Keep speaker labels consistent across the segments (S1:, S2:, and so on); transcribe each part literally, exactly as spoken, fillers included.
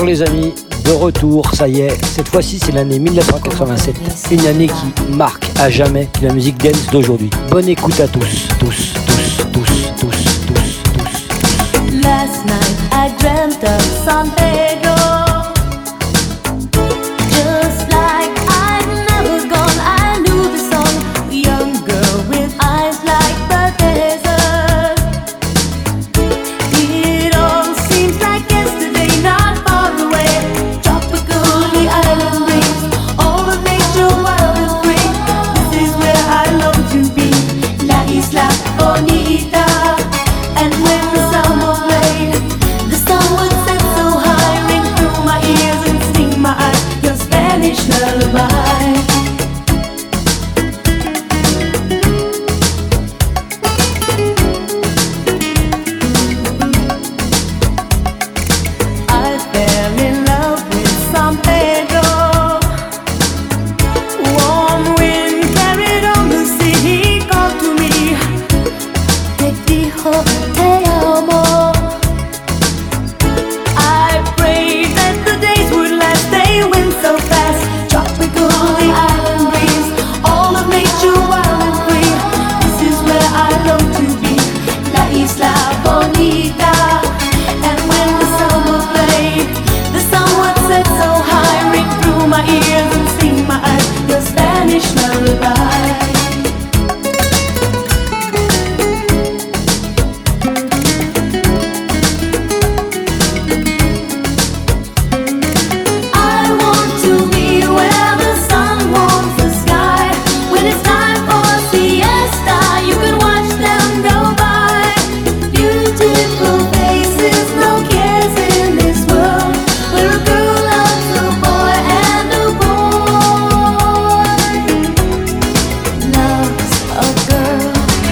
S1: les amis, de retour, ça y est, cette fois-ci c'est l'année mille neuf cent quatre-vingt-sept, une année qui marque à jamais la musique dance d'aujourd'hui. Bonne écoute à tous, tous, tous, tous, tous, tous, tous.
S2: Last night I dreamt of San Pedro. Just like I'd never gone, I knew the song. A young girl with eyes like the desert. It all seems like yesterday, not far away. Tropical, the island breeze, all the nature wild and free. This is where I long to be, La Isla Bonita. And when the summer played, the sun would set so high, ring through my ears and sting my eyes, your Spanish lullaby. I fell in love with San Pedro. Warm wind carried on the sea, he called to me. Te dijo te amo. I prayed that the days would last, they went so fast. Tropical, the island breeze, all of nature wild and free. This is where I long to be, La Isla Bonita. And when the summer played, the sun would set so high, ring through my ears and sting my eyes, your Spanish lullaby. I want to be where the sun warms the sky. When it's time for siesta, you can watch them go by. Beautiful faces, no cares in this world, where a girl loves a boy and a boy loves a girl.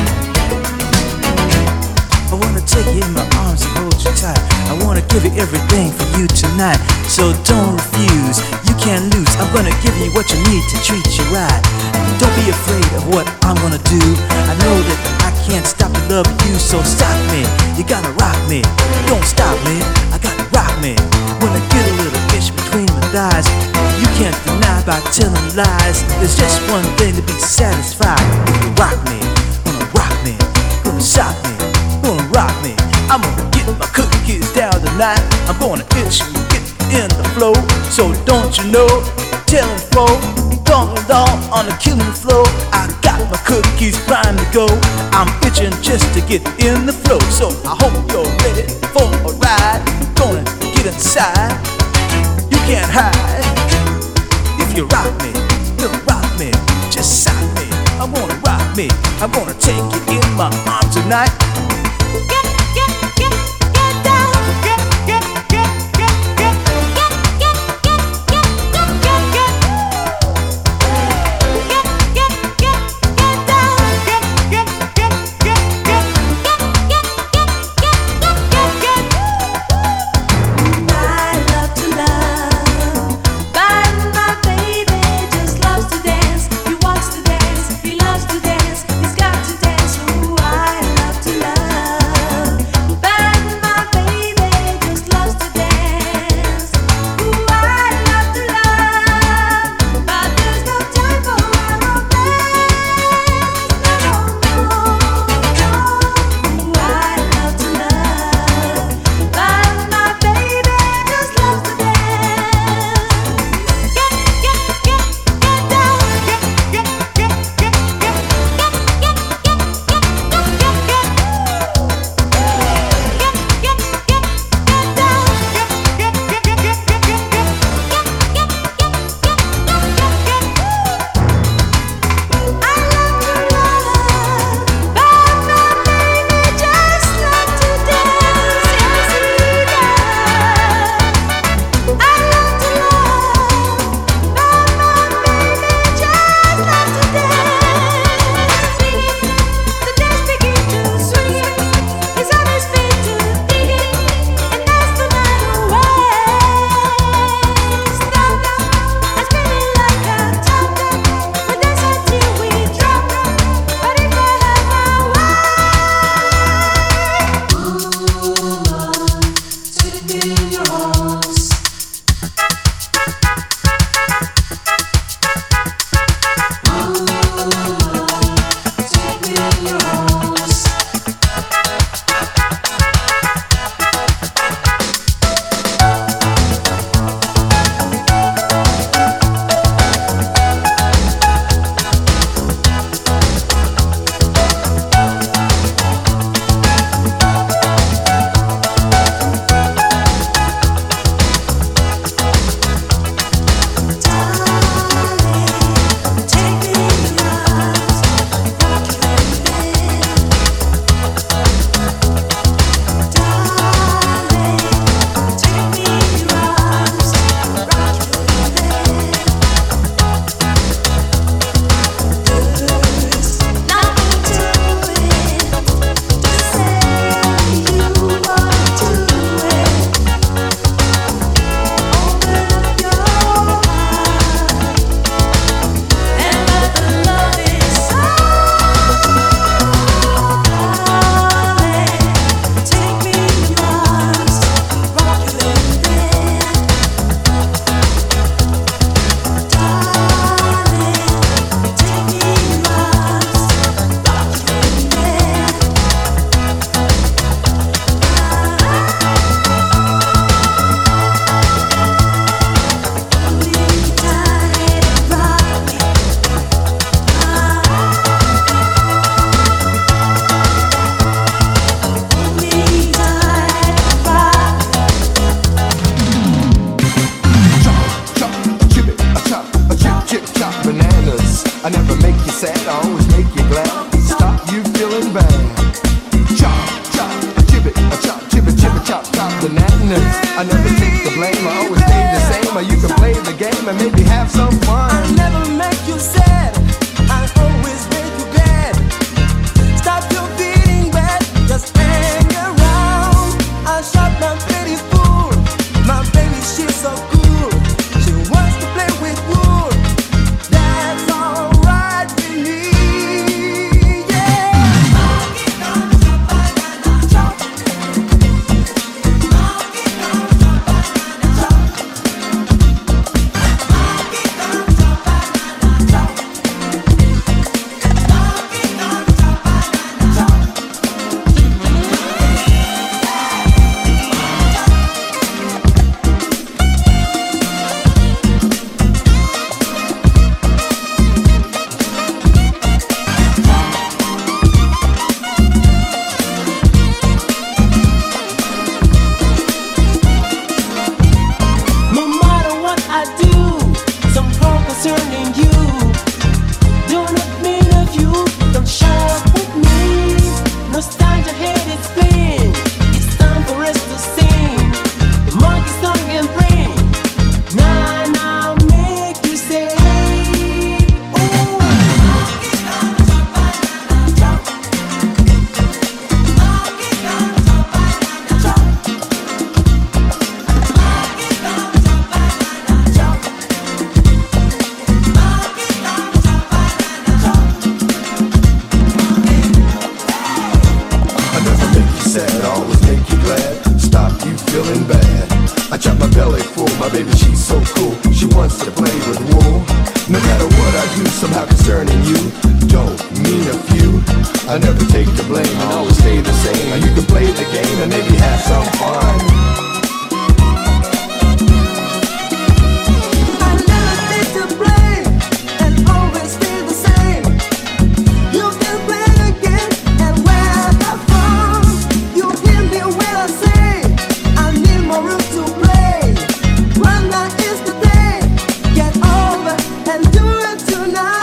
S3: I wanna take you in my arms and hold you tight. I wanna give you everything for you tonight. So don't refuse, you can't lose. I'm gonna give you what you need to treat you right. Don't be afraid of what I'm gonna do. I know that I can't stop to love you, so stop me. You gotta rock me. Don't stop me, I gotta rock me. When I get a little itch between my thighs, you can't deny by telling lies. There's just one thing to be satisfied. If you rock me, gonna rock me, gonna shock me, gonna rock me. I'm gonna get my cookies down tonight. I'm gonna itch and get in the flow. So don't you know, telling folk, don't along on the killing floor. I got my cookies primed to go. I'm itching just to get in the flow. So I hope you're ready for a ride. Gonna get inside, you can't hide. If you rock me, you rock me, just shock me. I'm gonna rock me, I'm gonna take you in my arms tonight. Get, get, get, get down. Get, get, get, get, get, get, get, get, get, get, get, get. Get, get, get, get down. Get, get, get, get, get, get, get, get, get, get, get.
S2: I love to love, but my baby just loves to dance. He wants to dance, he loves to dance, he's got to dance. Ooh, I love to love.
S4: I never make you sad, I always make you glad. Stop you feeling bad. Chop, chop, chip it, a chop, chip it, chip it, chop, chop the natness. I never take the blame, I always stay the same. Or you can play the game and maybe have some fun.
S3: I never make you sad, I always make you glad. Stop your feeling bad, just hang around. I shot my baby fool, my baby she's so cool. She wants to play with wood, that's alright with me, yeah. No matter what I do, somehow concerning you, do not mean of you, don't show up with me. Nostalgia head is playing, it's time for us to sing the monkey song and bring. Now, now, make you say, ooh.
S4: I never make you sad, I always make you glad. Stop you feeling bad. I chop my belly full, my baby she's so cool. She wants to play with wool. No matter what I do, somehow concerning you, don't mean a few. I never take the blame, I always stay the same. Now you can play the game and maybe have some fun.
S3: I never take the blame and always stay the same. You can play again and where I from. You hear me when I say I need more room to play. One night is the day. Get over and do it tonight.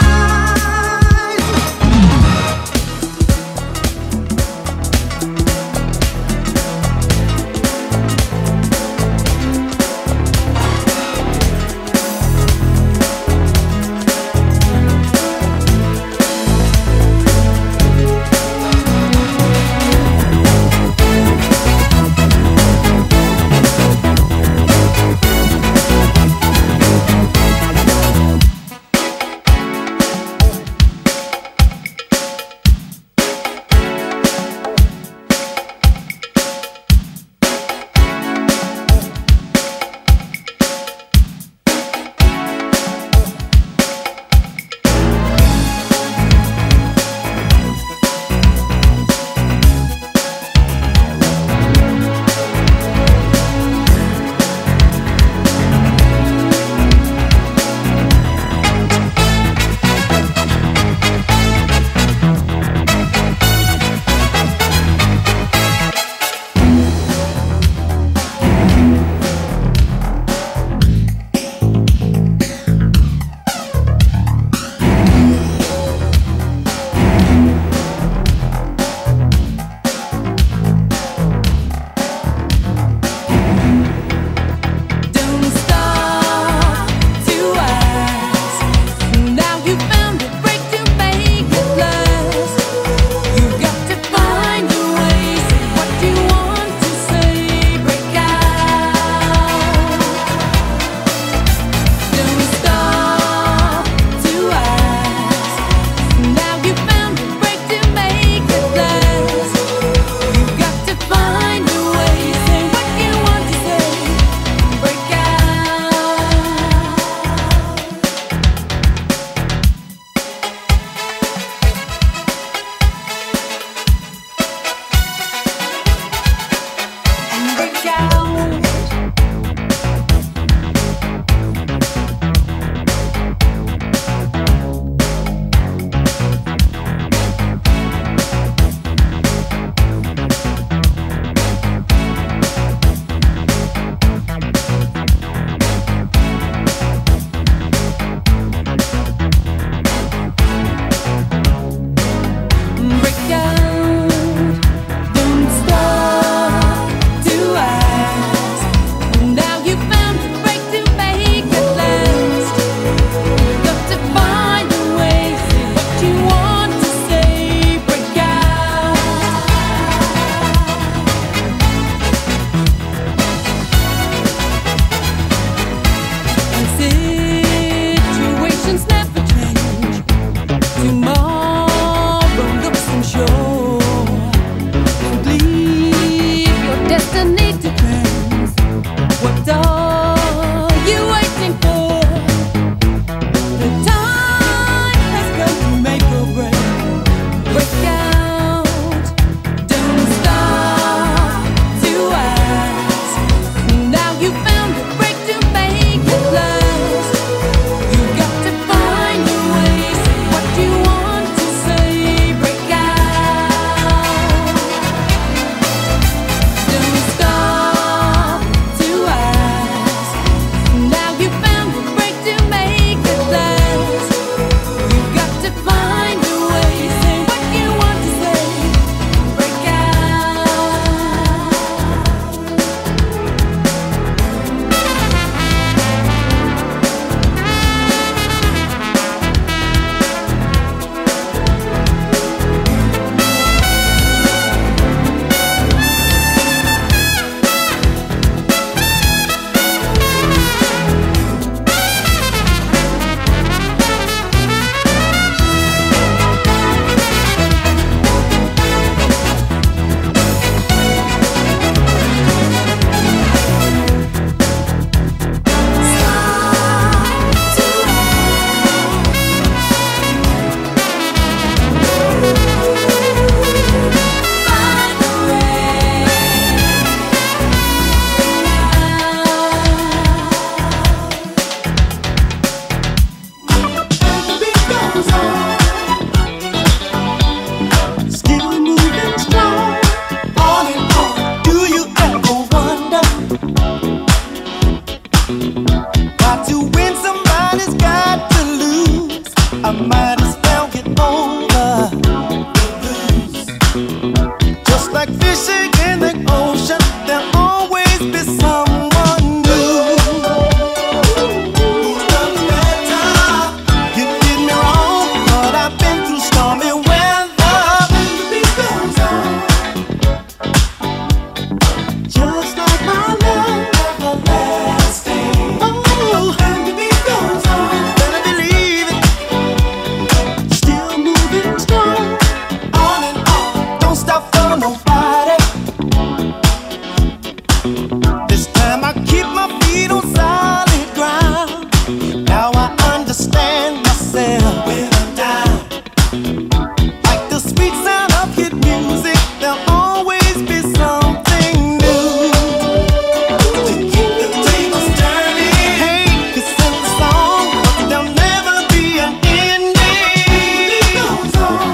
S5: might as well get over. Just like fishing in the ocean, there'll always be someone new. You did me wrong, but I've been through stormy weather. The beat goes on, just like my love, everlasting. Oh, and the beat goes on, better believe it. Still moving strong, on and on, don't stop for nobody. This time I keep my feet on solid ground. Now I understand myself when I'm down. Like the sweet sound of hit music, there'll always be something new to keep the tables turning. Hey, it's in the song, but there'll never be an ending. It goes on,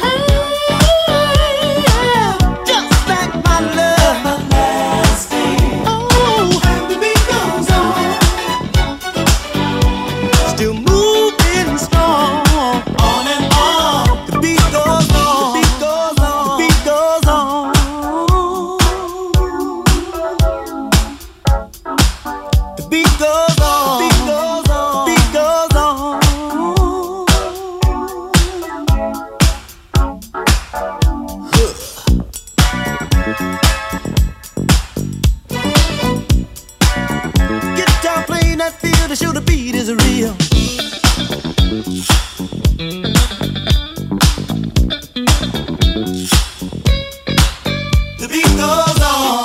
S5: just like my love, everlasting. Oh, and the beat goes on, still moving strong, on and on. The beat goes on, the beat goes on, the beat goes on. The beat goes on, the beat goes on, the beat goes on. Guitar playing that feel to show the beat is real. The beat goes on.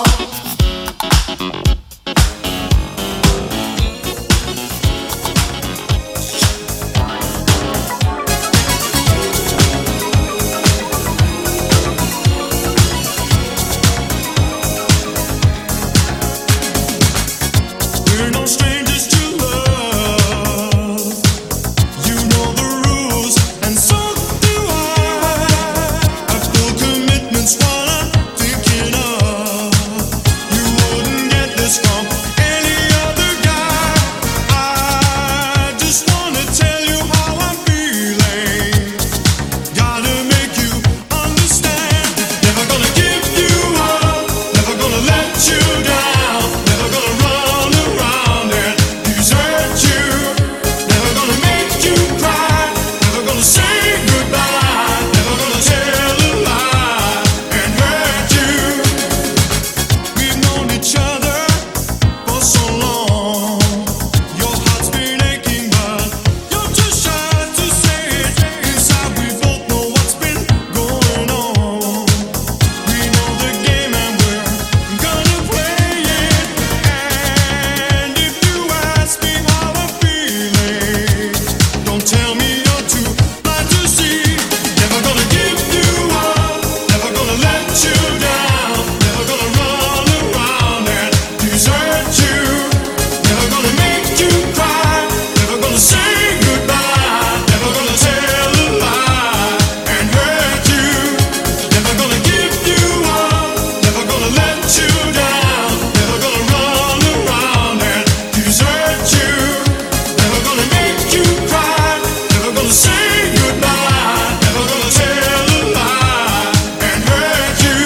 S6: We're no strangers to love. You know the rules, and so do I. I've full commitments while I'm thinking of. You wouldn't get this from any other guy. I just wanna tell you how I'm feeling. Gotta make you understand. Never gonna give you up. Never gonna let you down. Never gonna run around and desert you. Never gonna make you cry. Never gonna say goodbye. Never gonna tell a lie and hurt you. We've known each other for so long. Your heart's been aching, but you're too shy to say it. Inside we both know what's been going on. We know the game and we're gonna play it. And if you ask me how I'm feeling, don't tell me you're too blind to see. Never gonna give you up. Never gonna let you down. Never gonna run around and desert you. Never gonna make you cry. Never gonna say goodbye. Never gonna tell a lie and hurt you. Never gonna give you up. Never gonna let you down. Never gonna run around and desert you. Never gonna make you cry. Never gonna say goodbye. Never gonna tell a lie and hurt you.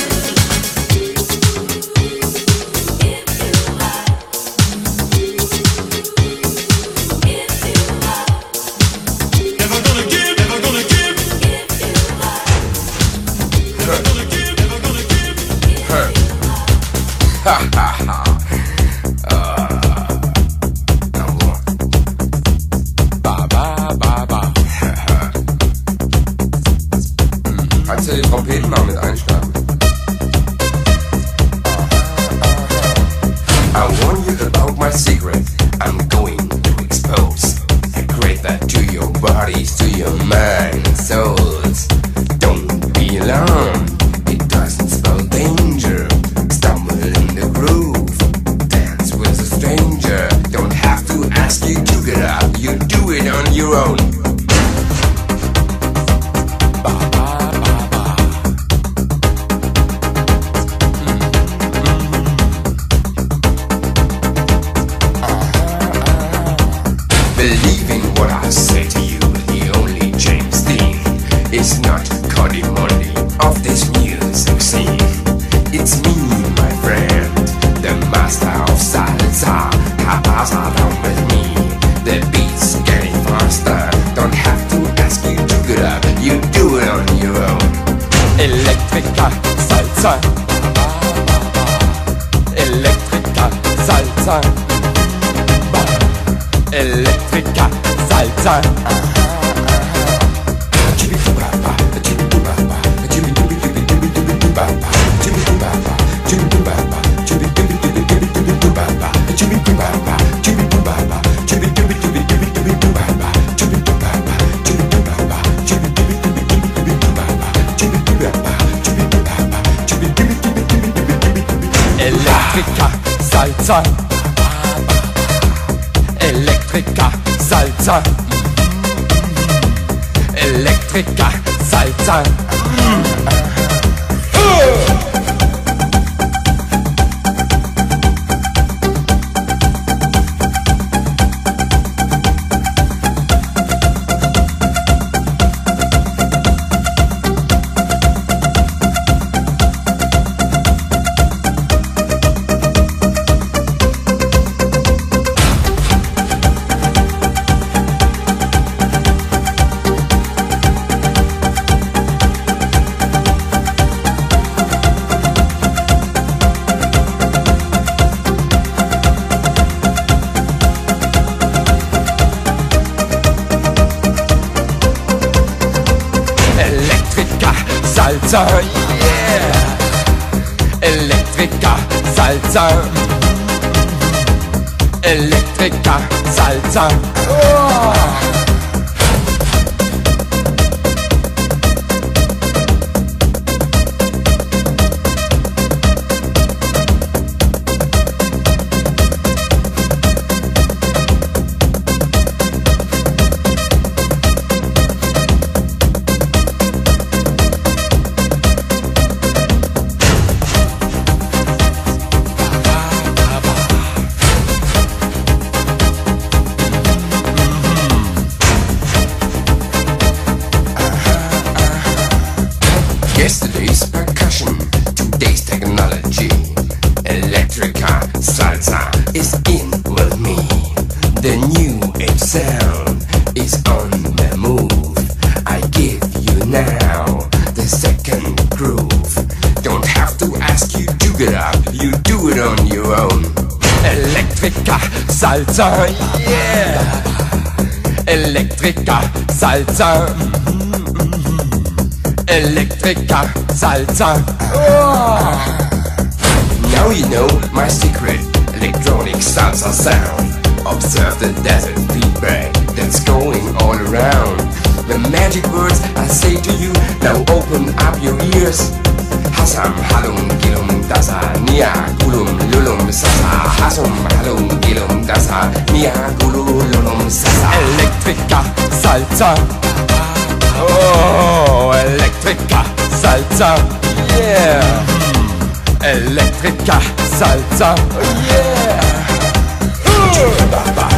S6: Never gonna give, never gonna give. Never gonna give, never gonna give.
S7: Kannst du die Trompeten mal mit einstarten? I warn you about my secret. I'm going to expose. I create that to your bodies, to your mind and souls. Don't be alarmed. It doesn't spell danger. Stumble in the groove. Dance with a stranger. Don't have to ask you to get up. You do it on your own. Believe in what I say to you. The only It's not Cody Monday of this music scene. It's me, my friend, the master of salsa. Cabasa down with me. The beat's getting faster. Don't have to ask you to get up. You do it on your own. Electrica salsa. Electrica salsa. Electrica salsa. Electrica salsa. Electrica salsa. Electrica salsa. Salsa, yeah. Electrica salsa. Electrica salsa. Oh. Yesterday's percussion, today's technology. Electrica salsa is in with me. The new age sound is on the move. I give you now the second groove. Don't have to ask you to get up, you do it on your own. Electrica salsa, yeah. Electrica salsa. Electrica salsa. Oh. Now you know my secret electronic salsa sound. Observe the desert feedback that's going all around. The magic words I say to you, now open up your ears. Hasam halum gilum dasa nia gulum lulum sasa. Hasum halum gilum dasa nia gulum lulum sasa. Electrica salsa. Oh, Electrica salsa, yeah. Electrica salsa, yeah. Uh.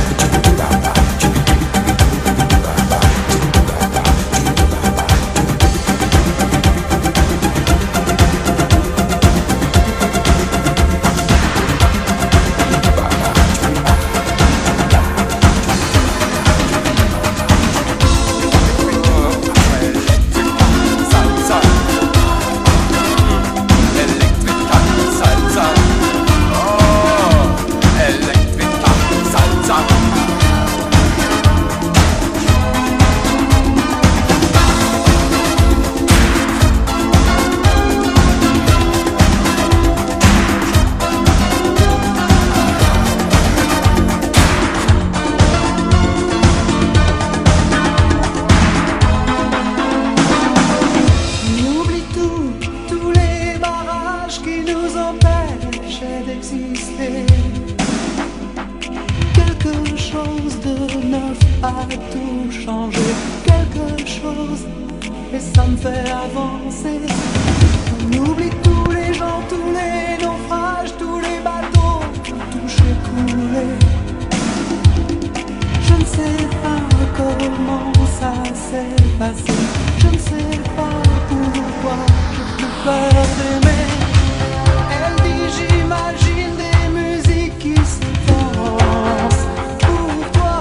S8: Quelque chose de neuf a tout changé, quelque chose, et ça me fait avancer. On oublie tous les gens, tous les naufrages, tous les bateaux, touchés, coulés. Je ne sais pas comment ça s'est passé. Je ne sais pas pourquoi j'ai plus peur d'aimer. Elle dit j'imagine des musiques qui se dansent pour toi.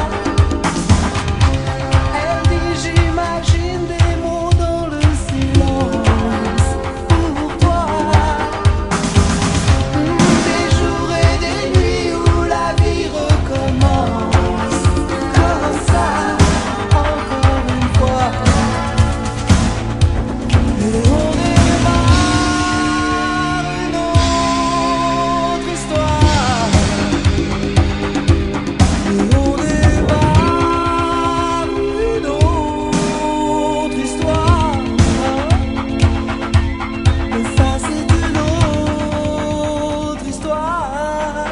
S8: Elle dit j'imagine des mots dans le silence pour toi. Des jours et des nuits où la vie recommence comme ça, encore une fois. Et on démarre une autre histoire. Et on démarre une autre histoire. Mais ça c'est une autre histoire.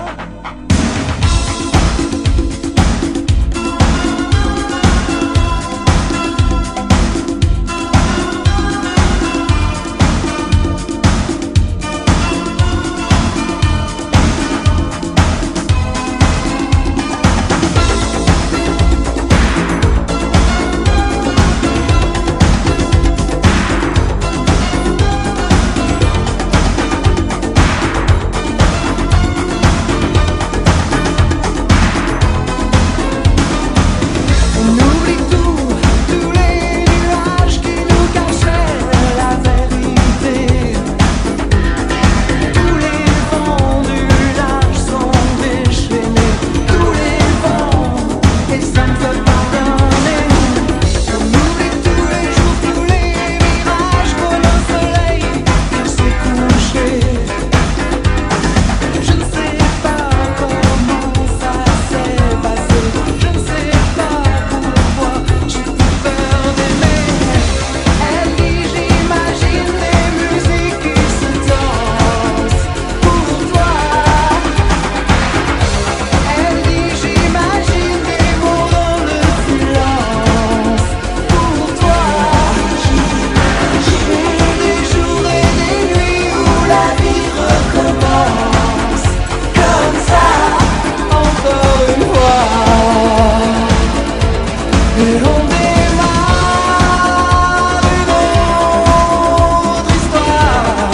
S8: On oublie tout, tous les nuages qui nous cachaient la vérité. Tous les vents du large sont déchaînés, tous les vents, et ça me fait pardonner. On oublie tous les jours, tous les mirages comme un soleil qui s'est couché. Je ne sais pas comment ça s'est passé, je ne sais pas pourquoi j'ai plus peur d'aimer. Elle dit j'imagine des musiques qui se dansent pour toi. Elle dit j'imagine des mots dans le silence pour toi. Des jours et des nuits où la vie recommence comme ça, encore une fois. Et on démarre une autre histoire.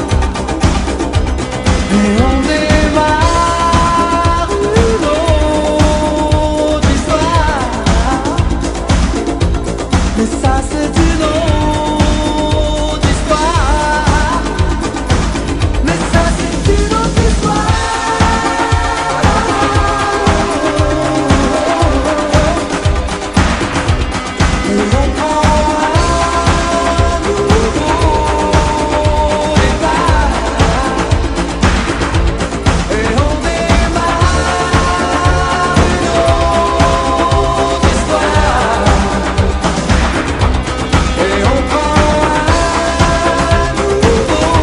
S8: Et on démarre une autre histoire. Mais ça c'est une autre histoire. Mais ça c'est une autre histoire. Et on prend un nouveau départ. Et on démarre une autre histoire. Et on prend un nouveau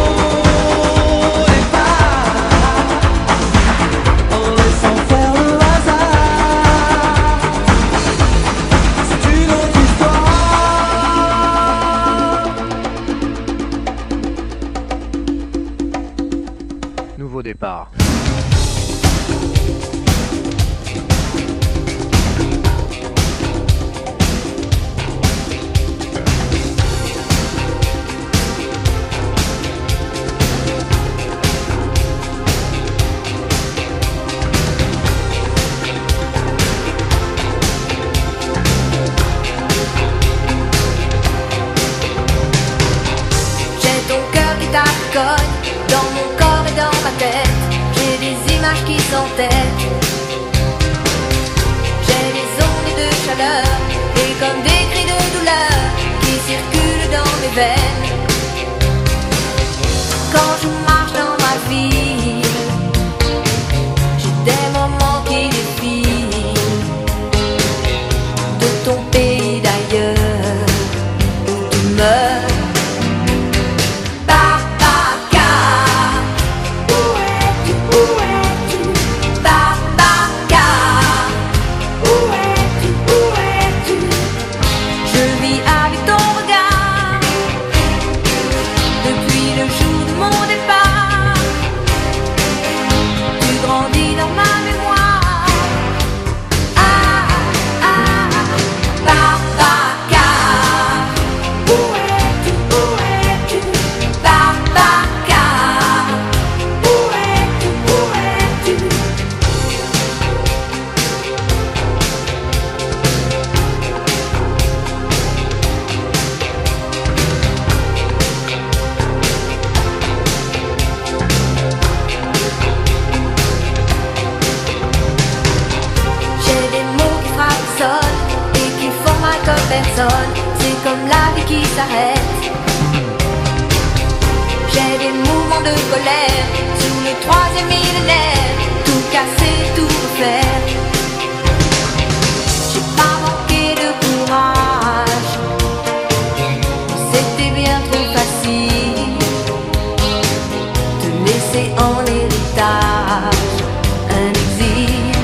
S8: départ. En laissant faire le hasard. C'est une autre histoire.
S1: Nouveau départ.
S9: J'ai ton cœur qui t'accogne dans mon corps et dans ma tête. J'ai des images qui s'entêtent. J'ai des ondes de chaleur et comme des cris de douleur qui circulent dans mes veines. Quand je marche dans ma ville, j'ai des moments qui défilent de ton pays d'ailleurs où tu meurs. Je vis avec ton regard depuis le jour de mon départ. Tu grandis dans ma mémoire. Ah, ah, Babaka. personne, c'est comme la vie qui s'arrête. J'ai des mouvements de colère sous le troisième millénaire, tout casser, tout refaire. J'ai pas manqué de courage, c'était bien trop facile de laisser en héritage un exil.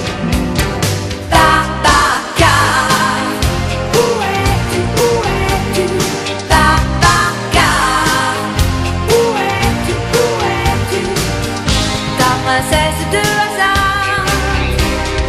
S9: Babacar, où es-tu, où es-tu? Babacar, où es-tu, où es-tu? Ta princesse de hasard,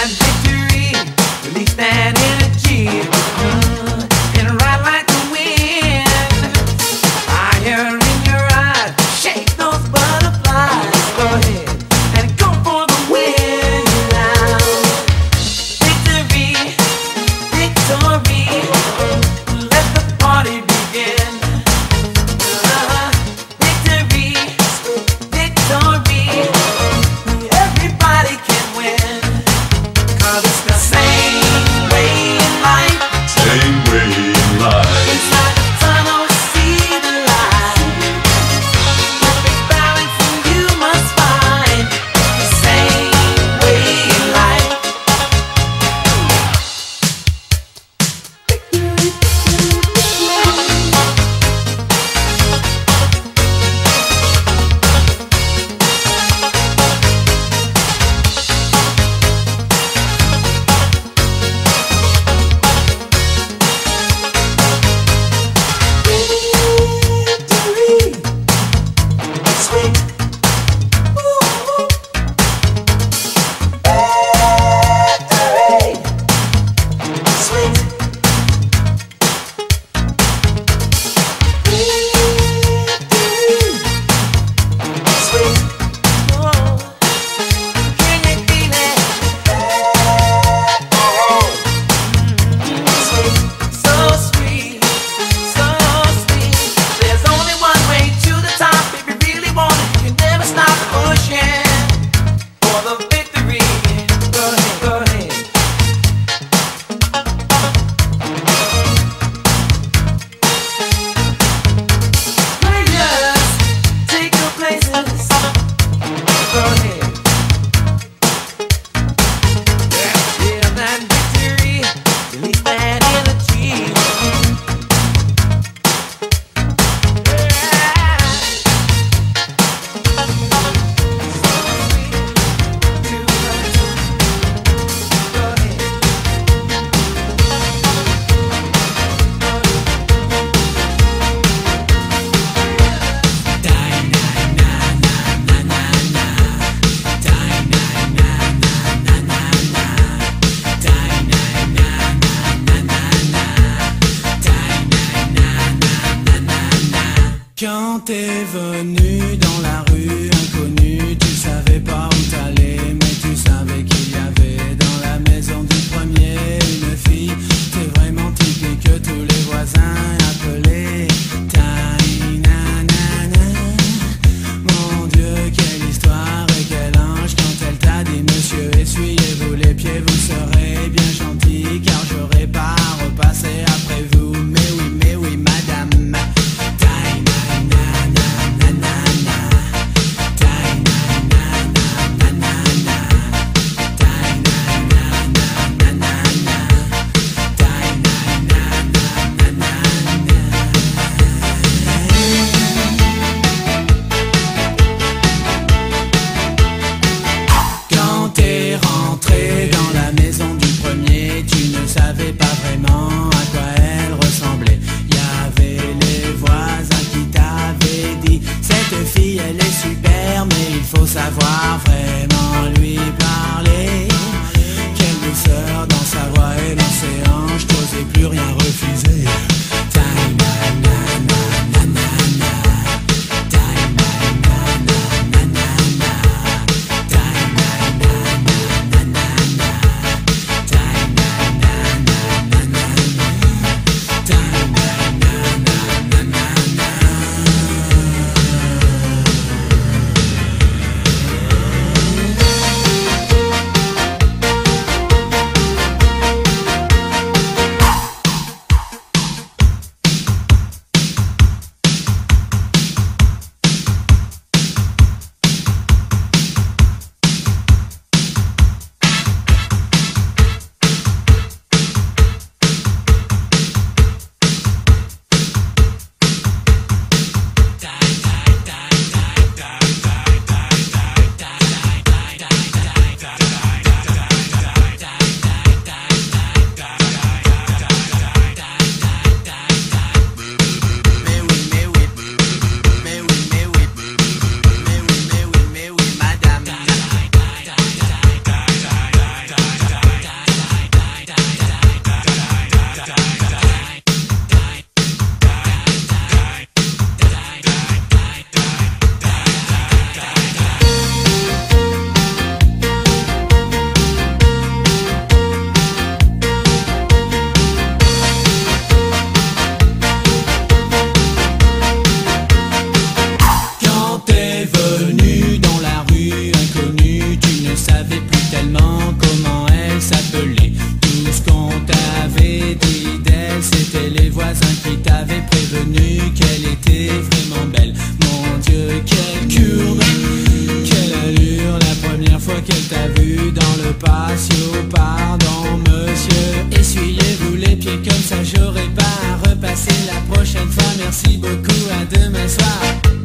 S5: that victory, release that energy, uh, and ride like the wind. Fire in your eyes, shake those butterflies. Go ahead and go for the win now. Victory, victory, let the party begin. Uh, victory, victory, everybody can win. 'Cause it's the same way in life.
S6: Same way in life.
S5: Inside the tunnel, see the light. Perfect balance and you must find the same way in life. Victory, sweet. Ooh. Victory, sweet. Victory, sweet. Oh, can you feel it? Sweet, so sweet, so sweet. There's only one way to the top. If you really want it, you can never stop pushing for the victory. Go ahead, go ahead. Players, take your places. Go ahead. Feel that victory, release that energy.
S3: Quand t'es venu dans la rue inconnue, tu savais pas où t'allais, mais tu savais qu'il y avait dans la maison du premier une fille. T'es vraiment typique que tous les voisins appelaient Tiny Nanana. Mon Dieu, quelle histoire et quel ange quand elle t'a dit monsieur, essuyez-vous les pieds, vous serez bien gentil, car j'aurai pas à repasser après vous. Mais oui, mais oui, madame. Tiny Nanana.
S10: pardon monsieur, essuyez-vous les pieds comme ça j'aurai pas à repasser la prochaine fois. Merci beaucoup, à demain soir.